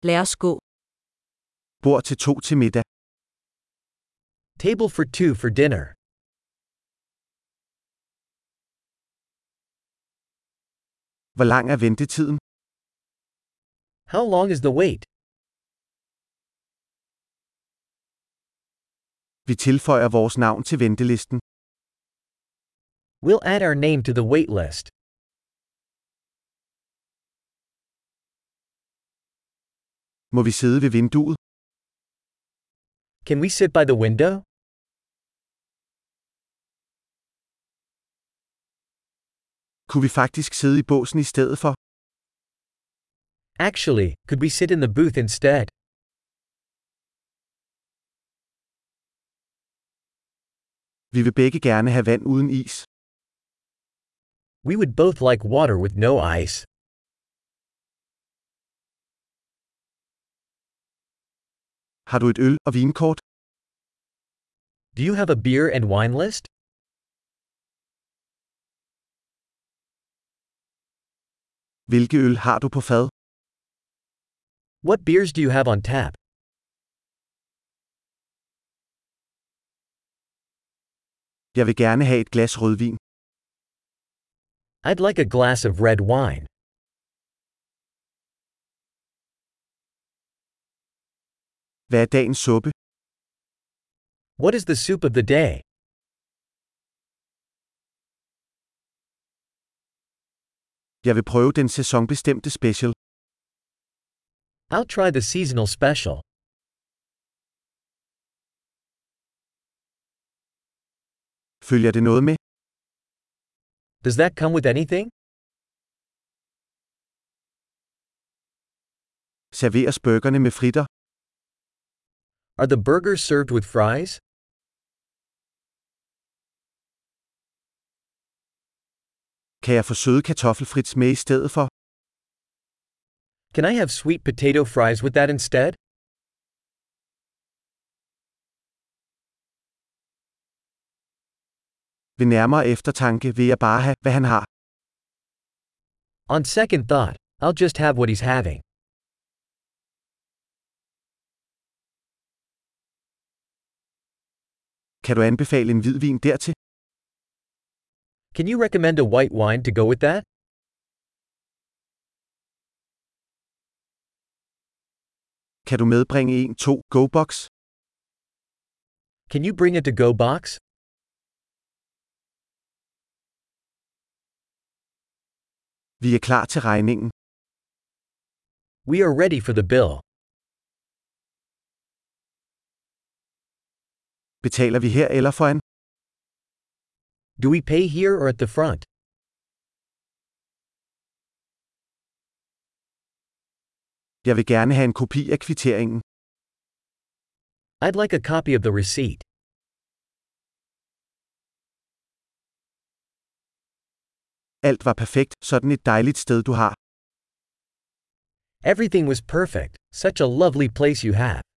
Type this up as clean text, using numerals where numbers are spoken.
Lad os gå. Bord til 2 til middag. Table for 2 for dinner. Hvor lang er ventetiden? How long is the wait? Vi tilføjer vores navn til ventelisten. We'll add our name to the wait list. Må vi sidde ved vinduet? Can we sit by the window? Kunne vi faktisk sidde i båsen i stedet for? Actually, could we sit in the booth instead? Vi vil begge gerne have vand uden is. We would both like water with no ice. Har du et øl- og vinkort? Do you have a beer and wine list? Hvilke øl har du på fad? What beers do you have on tap? Jeg vil gerne have et glas rødvin. I'd like a glass of red wine. Hvad er dagens suppe? What is the soup of the day? Jeg vil prøve den sæsonbestemte special. I'll try the seasonal special. Følger det noget med? Does that come with anything? Serveres burgerne med fritter? Are the burgers served with fries? Kan jeg få søde kartoffelfrits med i stedet for? Can I have sweet potato fries with that instead? Ved nærmere eftertanke vil jeg bare have, hvad han har. On second thought, I'll just have what he's having. Kan du anbefale en hvidvin dertil? Can you recommend a white wine to go with that? Kan du medbringe en 2 go-box? Can you bring a to-go box? Vi er klar til regningen. We are ready for the bill. Betaler vi her eller foran? Do we pay here or at the front? Jeg vil gerne have en kopi af kvitteringen. I'd like a copy of the receipt. Alt var perfekt, sådan et dejligt sted du har. Everything was perfect, such a lovely place you have.